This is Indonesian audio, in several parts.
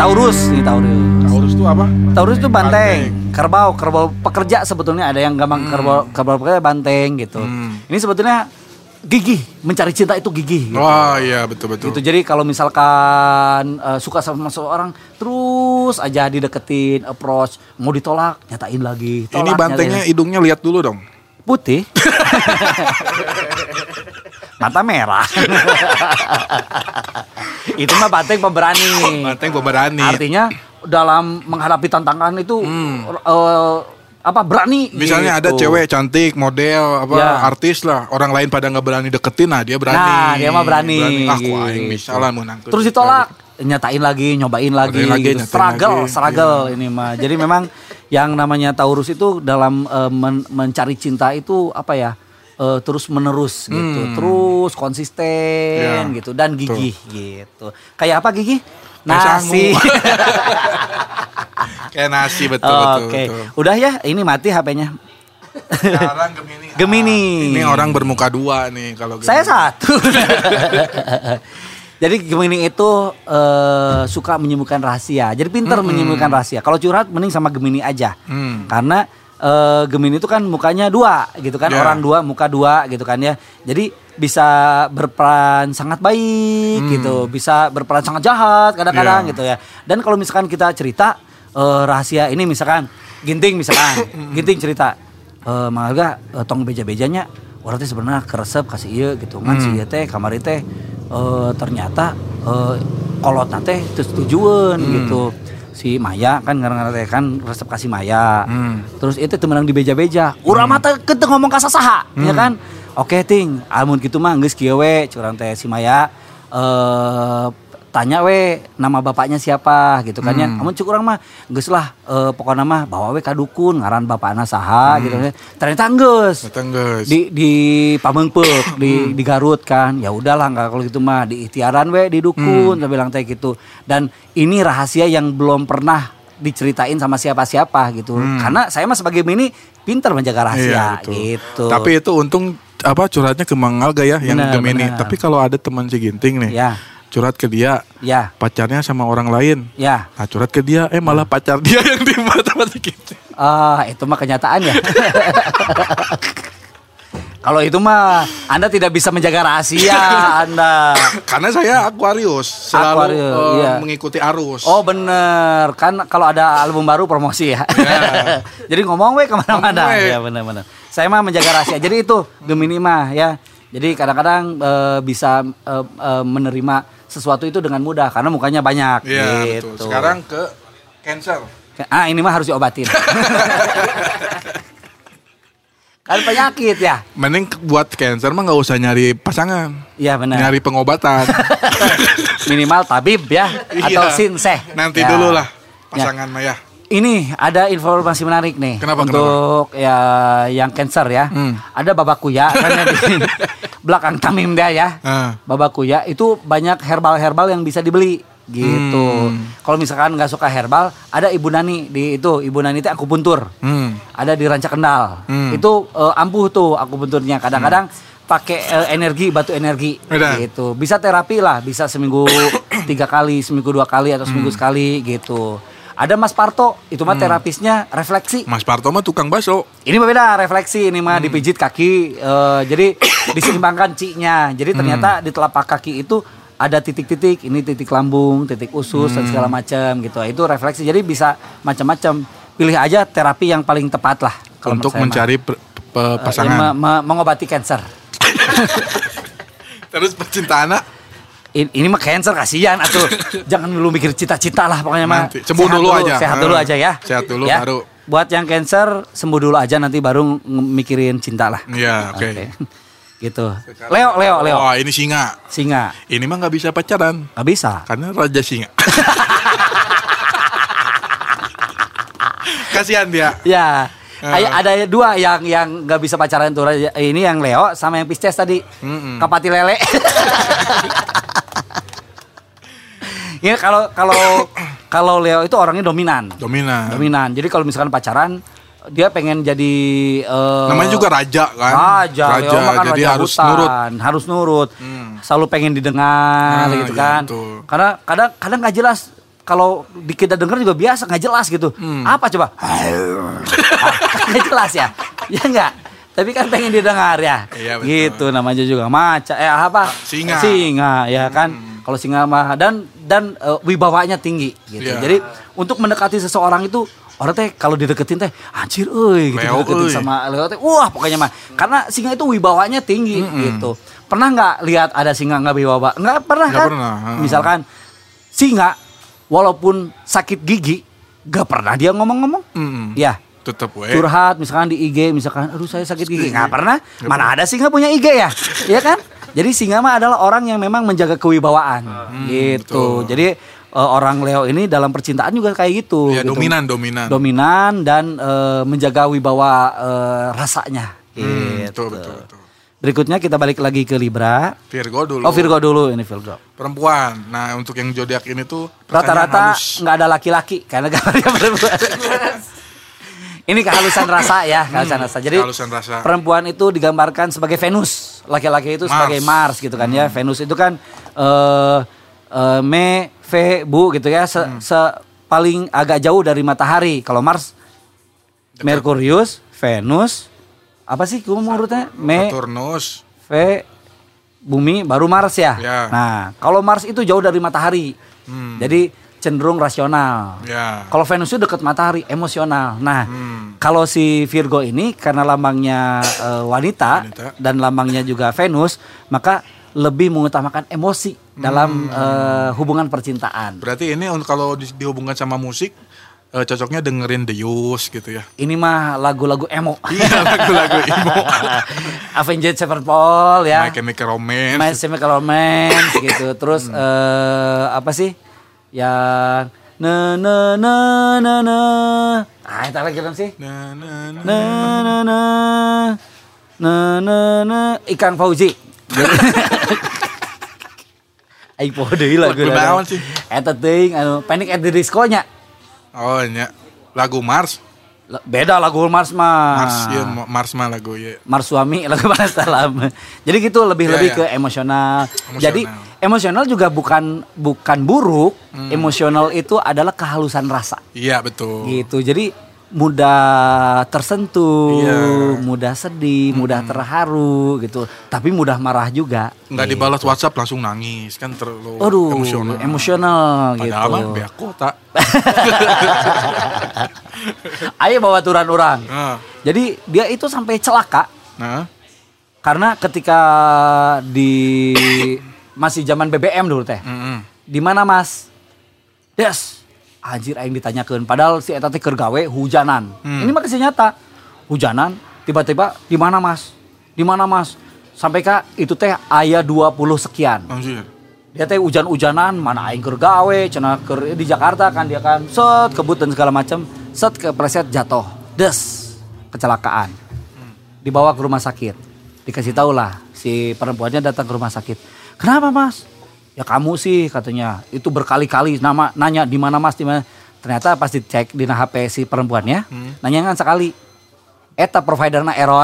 Taurus nih, Taurus. Taurus itu apa? Taurus itu banteng. Kerbau pekerja sebetulnya, ada yang gampang kerbau pekerja banteng gitu. Ini sebetulnya gigih, mencari cinta itu gigih gitu. Oh iya, betul. Gitu. Jadi kalau misalkan suka sama seseorang, terus aja dideketin, approach, mau ditolak, nyatain lagi. Ini bantengnya hidungnya lihat dulu dong. Putih. Mata merah. Itu mah banteng pemberani. Banteng pemberani. Artinya dalam menghadapi tantangan itu berani. Misalnya gitu. ada cewek cantik, model, artis lah, orang lain pada nggak berani deketin, nah dia berani. Nah, dia mah berani. Aku aing misalnya menang. Terus ditolak, nyatain lagi, nyobain lagi. Gitu. Struggle ini mah. Jadi memang yang namanya Taurus itu dalam mencari cinta itu terus menerus gitu, terus konsisten gitu dan gigih gitu. Kayak apa gigih? Nasi. Kayak nasi betul. Oke. Udah ya, ini mati HP-nya. Sekarang Gemini. Ini orang bermuka dua nih kalau Gemini. Saya satu. Jadi Gemini itu suka menyembunyikan rahasia. Jadi pintar menyembunyikan rahasia. Kalau curhat mending sama Gemini aja. Karena Gemini itu kan mukanya dua gitu kan, orang dua, muka dua gitu kan ya. Jadi bisa berperan sangat baik gitu, bisa berperan sangat jahat kadang-kadang gitu ya. Dan kalau misalkan kita cerita rahasia ini, misalkan Ginting cerita, Mangga tong beja-bejanya orang teh sebenarnya keresep kasih ieu gitu kan, si ieu teh kamari teh ternyata kolotna teh teu setujueun gitu. Si Maya kan ngarang teh kan resep kasih Maya. Terus itu temenang di beja-beja. Urang mah teh keuteuh ngomong ka sasaha, ya kan? Oke ting, amun kitu mah geus kieu we, curang teh si Maya tanya we nama bapaknya siapa gitu kan ya. Amun cuk urang mah geus lah pokona mah bawa we ka dukun ngaran bapakna saha gitu kan. Ternyata geus. Di Pameungpeuk, di Garut kan. Ya udahlah enggak kalau gitu mah di ikhtiaran we di dukun, saya bilang teh gitu. Dan ini rahasia yang belum pernah diceritain sama siapa-siapa gitu. Karena saya mah sebagai Gemini pintar menjaga rahasia gitu. Tapi itu untung curhatnya ke Mang Alga ya yang Gemini. Tapi kalau ada teman si Ginting nih, curhat ke dia, pacarnya sama orang lain, nah curhat ke dia, malah pacar dia yang dimata-mata gitu. Itu mah kenyataan ya. Kalau itu mah Anda tidak bisa menjaga rahasia Anda. Karena saya Aquarius, selalu mengikuti arus. Oh bener, kan kalau ada album baru promosi ya. Jadi ngomong we kemana-mana. Ya bener-bener. Saya mah menjaga rahasia. Jadi itu Gemini mah ya. Jadi kadang-kadang bisa menerima sesuatu itu dengan mudah karena mukanya banyak. Iya gitu. Betul. Sekarang ke Cancer. Ini mah harus diobatin. Kan penyakit ya. Mending buat Cancer mah nggak usah nyari pasangan. Iya benar. Nyari pengobatan. Minimal tabib ya atau sinseh. Nanti dulu lah pasangan Maya. Ini ada informasi menarik nih. Kenapa? Ya yang Cancer ya. Ada Babakuya kan ya di belakang Tamim dia ya. Babakuya itu banyak herbal yang bisa dibeli gitu. Kalau misalkan nggak suka herbal, ada Ibu Nani di itu. Ibu Nani itu akupuntur. Ada di Ranca Kendal. Itu ampuh tuh akupunturnya. Kadang-kadang pakai batu energi gitu. Bisa terapi lah, bisa seminggu 3 kali, seminggu 2 kali atau seminggu sekali gitu. Ada Mas Parto, itu mah terapisnya refleksi. Mas Parto mah tukang bakso. Ini mah beda, refleksi ini mah dipijit kaki. Jadi diseimbangkan ci-nya. Jadi ternyata di telapak kaki itu ada titik-titik, ini titik lambung, titik usus dan segala macam gitu. Itu refleksi. Jadi bisa macam-macam. Pilih aja terapi yang paling tepat lah kalau untuk mencari pasangan. Mengobati kanker. Terus percintaan ini mah Cancer kasihan atuh. Jangan dulu mikir cita-cita lah pokoknya mah. Sembuh dulu aja. Sehat dulu aja ya. Sehat dulu ya. baru. Buat yang Cancer sembuh dulu aja, nanti baru mikirin cinta lah. Iya, oke. Gitu. Leo. Oh, ini Singa. Ini mah nggak bisa pacaran. Nggak bisa. Karena Raja Singa. Kasihan dia. Ya. Ada 2 yang nggak bisa pacaran tuh. Ini yang Leo sama yang Pisces tadi. Kapati lele. Ya kalau Leo itu orangnya dominan. Jadi kalau misalkan pacaran, dia pengen jadi namanya juga raja kan. Raja. Leo makan jadi raja harus hutan, harus nurut. Selalu pengen didengar gitu kan. Gitu. Karena kadang nggak jelas kalau kita dengar juga biasa nggak jelas gitu. Apa coba? Nggak jelas ya, ya nggak. Tapi kan pengen didengar ya. Iya, gitu namanya juga macan. Singa ya kan. Kalau singa mah dan wibawanya tinggi gitu. Yeah. Jadi untuk mendekati seseorang itu orang teh kalau dideketin teh anjir gitu dideketin sama Leo teh wah pokoknya mah karena singa itu wibawanya tinggi gitu. Pernah nggak lihat ada singa nggak wibawa? Nggak pernah kan? Misalkan singa walaupun sakit gigi nggak pernah dia ngomong-ngomong. Ya. Tetap curhat misalkan di IG misalkan aduh saya sakit gigi nggak pernah. Mana ada singa punya IG ya? Iya kan? Jadi singa mah adalah orang yang memang menjaga kewibawaan gitu. Betul. Jadi orang Leo ini dalam percintaan juga kayak gitu. Ya, gitu. Dominan dan menjaga wibawa rasanya. Gitu. Betul. Berikutnya kita balik lagi ke Libra. Virgo dulu. Oh Virgo dulu ini Virgo. Perempuan. Nah untuk yang zodiak ini tuh rata-rata nggak ada laki-laki karena gambarnya perempuan. Ini kehalusan rasa ya, kehalusan rasa. Jadi perempuan itu digambarkan sebagai Venus, laki-laki itu sebagai Mars gitu kan ya. Venus itu kan Bu gitu ya, paling agak jauh dari matahari. Kalau Mars, Merkurius, Venus, apa sih urutnya? Saturnus, Bumi, baru Mars ya. Nah, kalau Mars itu jauh dari matahari, jadi cenderung rasional. Kalau Venus itu dekat matahari, emosional. Nah, kalau si Virgo ini karena lambangnya wanita dan lambangnya juga Venus, maka lebih mengutamakan emosi dalam hubungan percintaan. Berarti ini kalau dihubungkan sama musik cocoknya dengerin The Used gitu ya. Ini mah lagu-lagu emo. Iya, lagu-lagu emo. Avenged Sevenfold ya. My Chemical Romance gitu. Terus apa sih? Yang itu lagi kan sih? Ikang Fauzi. Ai podeu lagu naon sih? Eta teuing Panic at the Disco-nya. Oh nya. Lagu Mars. Beda lagu Mars mah. Mars mah lagu ya. Mars suami lagu Mars dalam. Jadi gitu lebih ke emosional. Jadi emosional juga bukan buruk. Emosional itu adalah kehalusan rasa. Iya betul. Gitu. Jadi mudah tersentuh, mudah sedih, mudah terharu gitu. Tapi mudah marah juga. Nggak dibalas WhatsApp langsung nangis kan terlalu emosional gitu. Padahal mah beak kota. Ayo bawa turan orang. Jadi dia itu sampai celaka. Karena ketika di masih zaman BBM dulu teh. Di mana Mas? Yes. Anjir aing ditanyakeun padahal si eta teh keur gawe hujanan. Ini mah kisah nyata. Hujanan tiba-tiba di mana Mas? Di mana Mas? Sampai ka itu teh aya 20 sekian. Anjir. Dia teh hujan-hujanan mana aing keur gawe cenah keur di Jakarta kan dia kan set kebut dan segala macam, set kepleset jatuh. Des. Kecelakaan. Dibawa ke rumah sakit. Dikasih tahu lah si perempuannya datang ke rumah sakit. Kenapa Mas? Ya kamu sih katanya itu berkali-kali nanya di mana Mas di mana. Ternyata pas dicek di HP si perempuannya nanya kan sekali. Eta providerna error.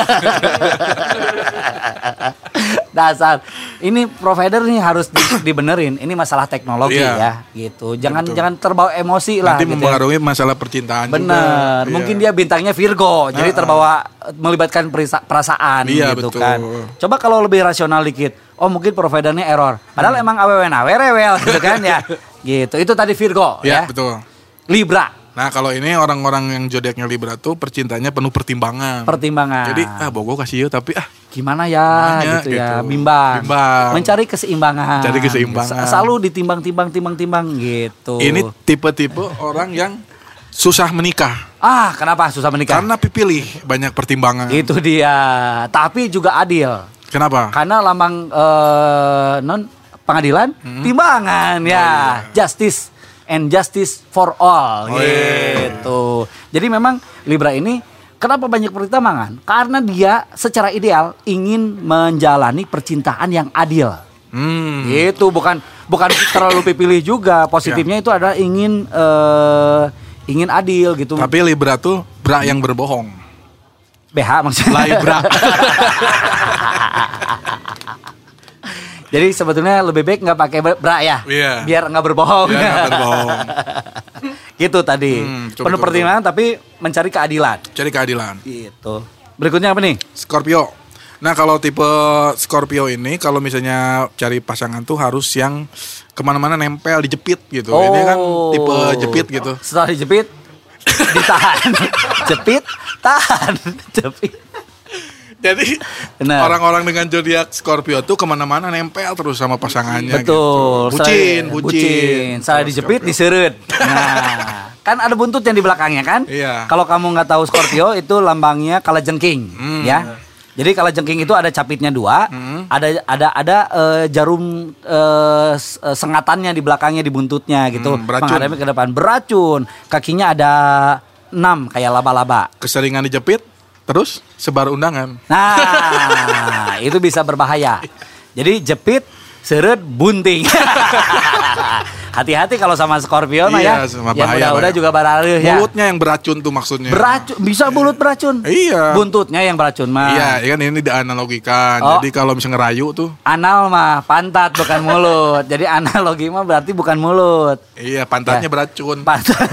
Dasar. Ini provider nih harus dibenerin. Ini masalah teknologi ya gitu. Jangan terbawa emosi lah. Nanti gitu mempengaruhi masalah percintaan. Bener. Juga. Mungkin dia bintangnya Virgo. Jadi terbawa melibatkan perasaan gitu betul. Kan. Coba kalau lebih rasional dikit. Oh mungkin providernya error. Padahal emang rewel gitu kan ya. Gitu. Itu tadi Virgo ya. Betul. Libra. Nah kalau ini orang-orang yang zodiaknya Libra tuh percintaannya penuh pertimbangan. Jadi bogo kasih tapi gimana ya gitu ya. Bimbang. Mencari keseimbangan. Selalu ditimbang-timbang gitu. Ini tipe-tipe orang yang susah menikah. Kenapa susah menikah? Karena pilih banyak pertimbangan. Itu dia. Tapi juga adil. Kenapa? Karena lambang pengadilan timbangan ya. Justice and justice for all gitu. Jadi memang Libra ini kenapa banyak pertimbangan? Karena dia secara ideal ingin menjalani percintaan yang adil. Gitu bukan terlalu pilih juga. Positifnya itu adalah ingin adil gitu. Tapi Libra tuh bra yang berbohong. BH maksudnya. Libra. Jadi sebetulnya lebih baik nggak pakai bra ya, biar nggak berbohong. Gitu tadi. Penuh pertimbangan tapi mencari keadilan. Cari keadilan. Gitu. Berikutnya apa nih? Scorpio. Nah kalau tipe Scorpio ini kalau misalnya cari pasangan tuh harus yang kemana-mana nempel dijepit gitu. Ini kan tipe jepit gitu. Setelah dijepit ditahan. Jepit, tahan, jepit. Jadi orang-orang dengan zodiak Scorpio tuh kemana-mana nempel terus sama pasangannya. Betul. Gitu. Bucin. Salah dijepit, diseret. Nah, kan ada buntut yang di belakangnya kan? Iya. Kalau kamu nggak tahu Scorpio itu lambangnya kalajengking, ya. Jadi kalajengking itu ada capitnya 2, ada jarum sengatannya di belakangnya di buntutnya gitu. Menghadapi ke depan. Beracun. Kakinya ada 6 kayak laba-laba. Keseringan dijepit. Terus sebar undangan. Nah, itu bisa berbahaya. Jadi jepit, seret, bunting. Hati-hati kalau sama Scorpio ya. Sama yang udah juga bararuh ya. Mulutnya yang beracun tuh maksudnya. Beracun, bisa mulut beracun. Iya. Buntutnya yang beracun mah. Iya, kan ini dianalogikan. Jadi kalau misalnya ngerayu tuh. Anal mah pantat bukan mulut. Jadi analogi mah berarti bukan mulut. Iya, pantatnya beracun.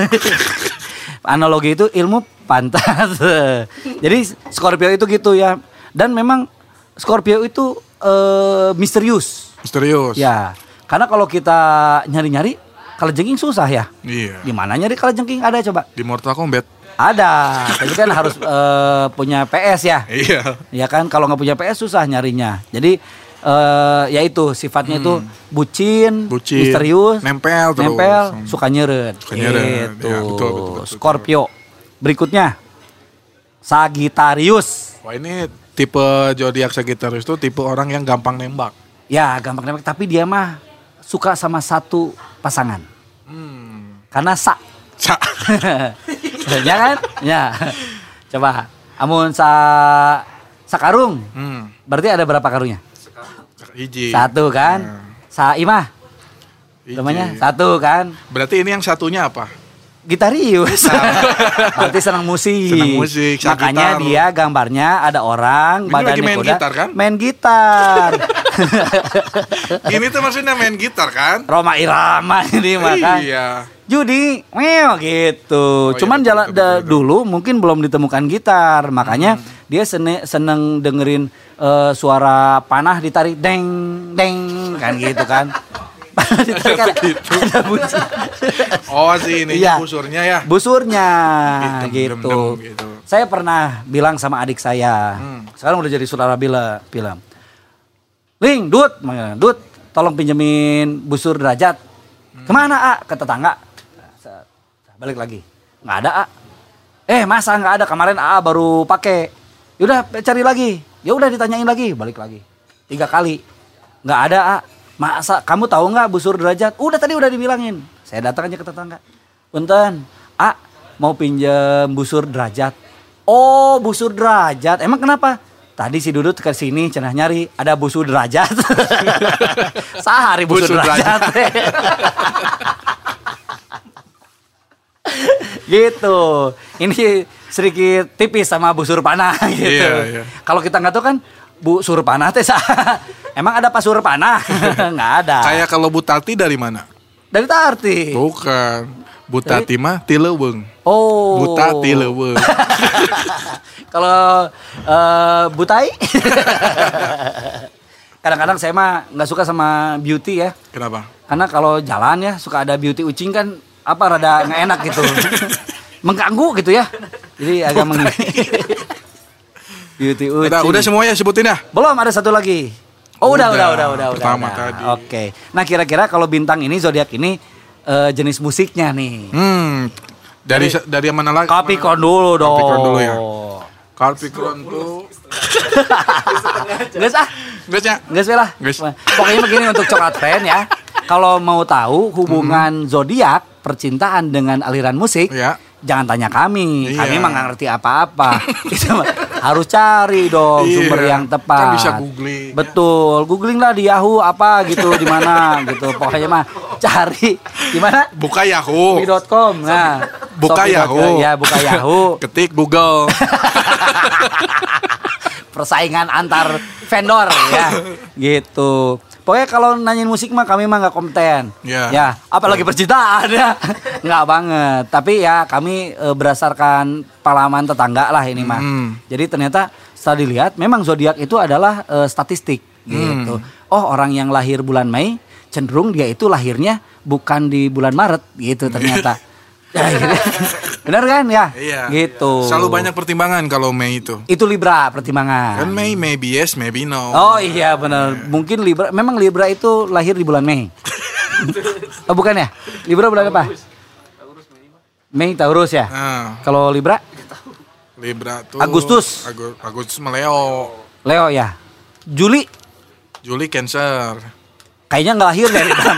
Analogi itu ilmu pantat. Jadi Scorpio itu gitu ya. Dan memang Scorpio itu misterius. Ya. Karena kalau kita nyari-nyari kalajengking susah ya. Iya. Di mana nyari kalajengking ada coba? Di Mortal Kombat. Ada. Tapi kan harus punya PS ya. Iya. Ya kan kalau nggak punya PS susah nyarinya. Jadi ya itu sifatnya itu bucin, misterius, nempel, suka nyeret. Gitu. Ya, betul. Scorpio. Berikutnya Sagittarius. Wah, ini tipe zodiak Sagittarius itu tipe orang yang gampang nembak. Ya, gampang nembak, tapi dia mah suka sama satu pasangan. Karena ya kan? Ya. Coba, amun sakarung. Berarti ada berapa karungnya? Hiji. 1 kan? Saimah. Namanya 1 kan? Berarti ini yang satunya apa? Gitarius. Berarti senang musik. Makanya dia gambarnya ada orang ini badannya main kuda. Gitar kan? Main gitar. Ini tuh maksudnya main gitar kan? Roma Irama ini makan. Iya. Judi, gitu. Cuman dulu mungkin belum ditemukan gitar, makanya dia seneng dengerin suara panah ditarik deng deng kan gitu kan. Ada bunyi. Oh sih ini iya. Busurnya ya. Busurnya gitu. Saya pernah bilang sama adik saya. Sekarang udah jadi saudara bilang. Ling, Dut, tolong pinjemin busur derajat. Kemana, A? Ke tetangga. Balik lagi. Nggak ada, A. Masa nggak ada? Kemarin A baru pakai. Yaudah cari lagi. Ya udah ditanyain lagi, balik lagi. 3 kali. Nggak ada, A. Masa kamu tahu nggak busur derajat? Tadi udah dibilangin. Saya datang aja ke tetangga. Punten, A mau pinjam busur derajat. Oh, busur derajat. Emang kenapa? Tadi si Dudut ke sini cenah nyari ada busur derajat. Sehari busur derajat. Gitu. Ini sedikit tipis sama busur panah gitu. Iya. Kalau kita nggak tahu kan busur panah teh emang ada pasur panah? Nggak ada. Kayak kalau Butati dari mana? Dari Tarti. Bukan. Butati mah ti leuweung. Oh. Butati leuweung. Kalau Butai? Kadang-kadang saya mah nggak suka sama beauty ya. Kenapa? Karena kalau jalan ya suka ada beauty ucing kan rada nggak enak gitu. Mengganggu gitu ya. Jadi agak beauty ucing. Udah semuanya sebutin ya? Belum, ada satu lagi. Oh udah. Pertama tadi. Oke. Nah kira-kira kalau bintang ini zodiak ini jenis musiknya nih. Dari yang mana lagi? Capricorn dulu dong. Capricorn dulu ya. Capricorn tuh. Guys lah. Pokoknya begini untuk Coklat Friend ya. Kalau mau tahu hubungan zodiak percintaan dengan aliran musik, jangan tanya kami. Kami mah nggak ngerti apa-apa. Harus cari dong sumber yang tepat. Kan bisa googling. Betul, googling lah di Yahoo apa gitu, di mana gitu. Pokoknya mah cari di mana? Buka Yahoo. .com. Nah, buka Yahoo. Ya, buka Yahoo. Ketik Google. Persaingan antar vendor ya. Gitu. Pokoknya kalau nanyain musik mah kami mah nggak kompeten. Ya, apalagi percintaan ya. Nggak banget. Tapi ya kami berdasarkan pengalaman tetangga lah ini mah. Jadi ternyata setelah dilihat memang zodiak itu adalah statistik gitu. Oh, orang yang lahir bulan Mei cenderung dia itu lahirnya bukan di bulan Maret gitu ternyata. Ya, gitu. Benar kan ya? Iya. Gitu. Selalu banyak pertimbangan kalau Mei itu. Itu Libra pertimbangan. Kan Mei maybe yes, maybe no. Oh iya benar. Mungkin Libra, memang Libra itu lahir di bulan Mei. Oh bukan ya? Libra bulan apa? Mei Taurus ya. Kalau Libra? Libra tuh Agustus. Agustus Leo. Leo ya. Juli Cancer. Kayaknya nggak lahir dari Libra.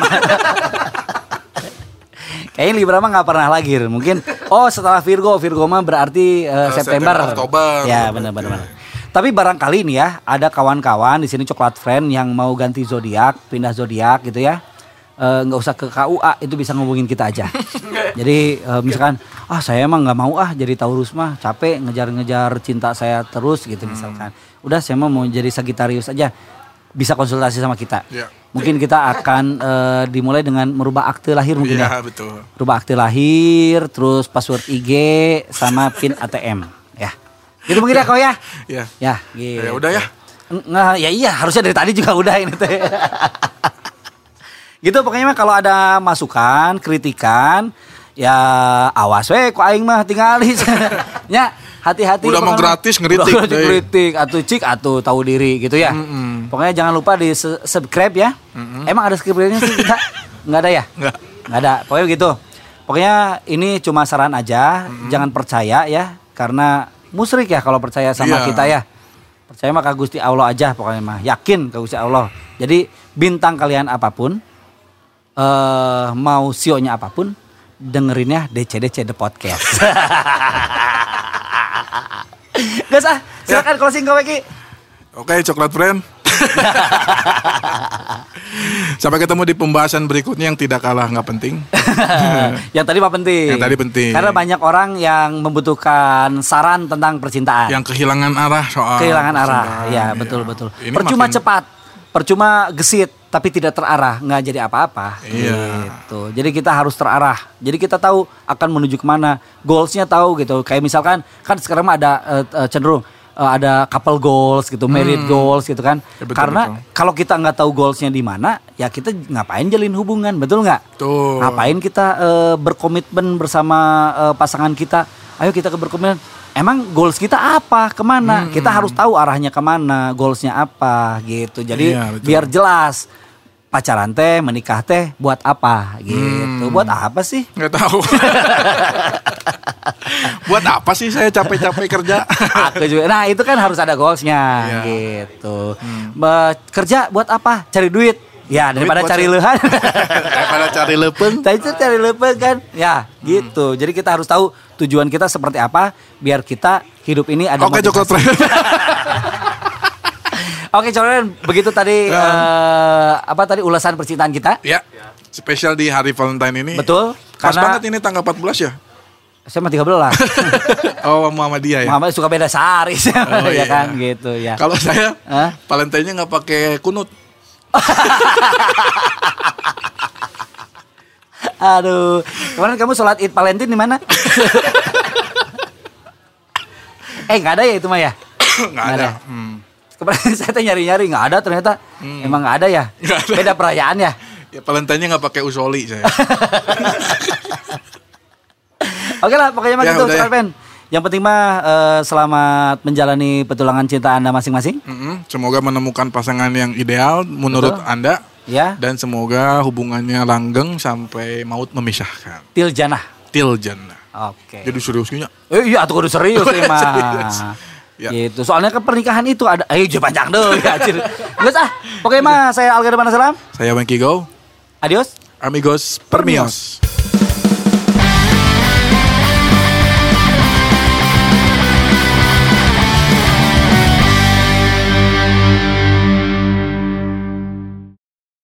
Kayaknya Libra mah nggak pernah lahir. Mungkin setelah Virgo mah berarti September. Oktober. Ya benar. Tapi barangkali nih ya ada kawan-kawan di sini Coklat Friend yang mau ganti zodiak, pindah zodiak gitu ya. Nggak usah ke KUA, itu bisa ngubungin kita aja. Jadi misalkan saya emang nggak mau jadi Taurus mah capek ngejar-ngejar cinta saya terus gitu misalkan. Udah saya mah mau jadi Sagittarius aja. Bisa konsultasi sama kita. Yeah. Mungkin kita akan dimulai dengan merubah akte lahir mungkin ya. Iya betul. Rubah akte lahir, terus password IG sama PIN ATM ya. Gitu mungkin ya kau ya. Iya. Ya, gitu. Ya udah ya. Nggak, ya iya harusnya dari tadi juga udah ini teh. Gitu pokoknya mah kalau ada masukan, kritikan ya awas we ku aing mah tingali. Ya, hati-hati. Udah mau gratis ngeritik atau tahu diri gitu ya. Pokoknya jangan lupa di subscribe ya. Emang ada subscribe-nya sih kita? Enggak ada ya? Enggak ada. Pokoknya gitu. Pokoknya ini cuma saran aja, jangan percaya ya karena musyrik ya kalau percaya sama kita ya. Percaya mah ka Gusti Allah aja pokoknya mah. Yakin ka Gusti Allah. Jadi bintang kalian apapun mau sionya apapun dengerinnya DC The Podcast. Guys silakan closing kau Eki. Oke, Coklat Friend. Sampai ketemu di pembahasan berikutnya yang tidak kalah nggak penting. Yang tadi mah penting. Yang tadi penting. Karena banyak orang yang membutuhkan saran tentang percintaan. Yang kehilangan arah soal. Kehilangan arah, ya betul. Percuma cepat, percuma gesit, tapi tidak terarah, nggak jadi apa-apa. Gitu. Jadi kita harus terarah. Jadi kita tahu akan menuju kemana, goalsnya tahu gitu. Kayak misalkan kan sekarang ada cenderung ada couple goals gitu, married goals gitu kan. Ya, betul, karena kalau kita nggak tahu goalsnya di mana, ya kita ngapain jalin hubungan, betul nggak? Tuh. Ngapain kita berkomitmen bersama pasangan kita? Ayo kita berkomitmen. Emang goals kita apa, kemana? Kita harus tahu arahnya kemana, goalsnya apa gitu. Jadi biar jelas. Pacaran teh, menikah teh buat apa gitu. Buat apa sih? Nggak tahu. Buat apa sih saya capek-capek kerja? Aku juga. Nah itu kan harus ada goalsnya gitu. Kerja buat apa? Cari duit. Ya daripada cari leuhan. Daripada cari lepeng. Cari lepeng kan. Ya gitu. Jadi kita harus tahu tujuan kita seperti apa. Biar kita hidup ini ada motivasi. Oke, Coklat. Oke, Coren, begitu tadi ulasan percintaan kita? Ya. Spesial di hari Valentine ini. Betul. Pas banget ini tanggal 14 ya? Saya mah 13. Oh, Muhammadiyah ya. Muhammadiyah suka beda sehari ya kan gitu ya. Kalau saya Valentine-nya enggak pakai kunut. Aduh, kemarin kamu sholat Id Valentine di mana? Nggak ada ya itu mah ya? Nggak ada. Kemarin saya nyari-nyari nggak ada ternyata. Emang nggak ada ya? Gak ada. Beda perayaan ya? Ya Valentine-nya nggak pakai usoli saya. Oke lah, pokoknya mah gitu, Coklat. Yang penting mah selamat menjalani petualangan cinta Anda masing-masing. Semoga menemukan pasangan yang ideal menurut Anda. Ya. Dan semoga hubungannya langgeng sampai maut memisahkan. Til jannah. Oke. Jadi seriusnya? Iya, tuh kudu serius mah. Ya. Gitu. Soalnya kan pernikahan itu ada panjang deh ya. Guys pokoknya mah saya Algar Banasalam. Saya Wengki Go. Adios. Amigos Permios.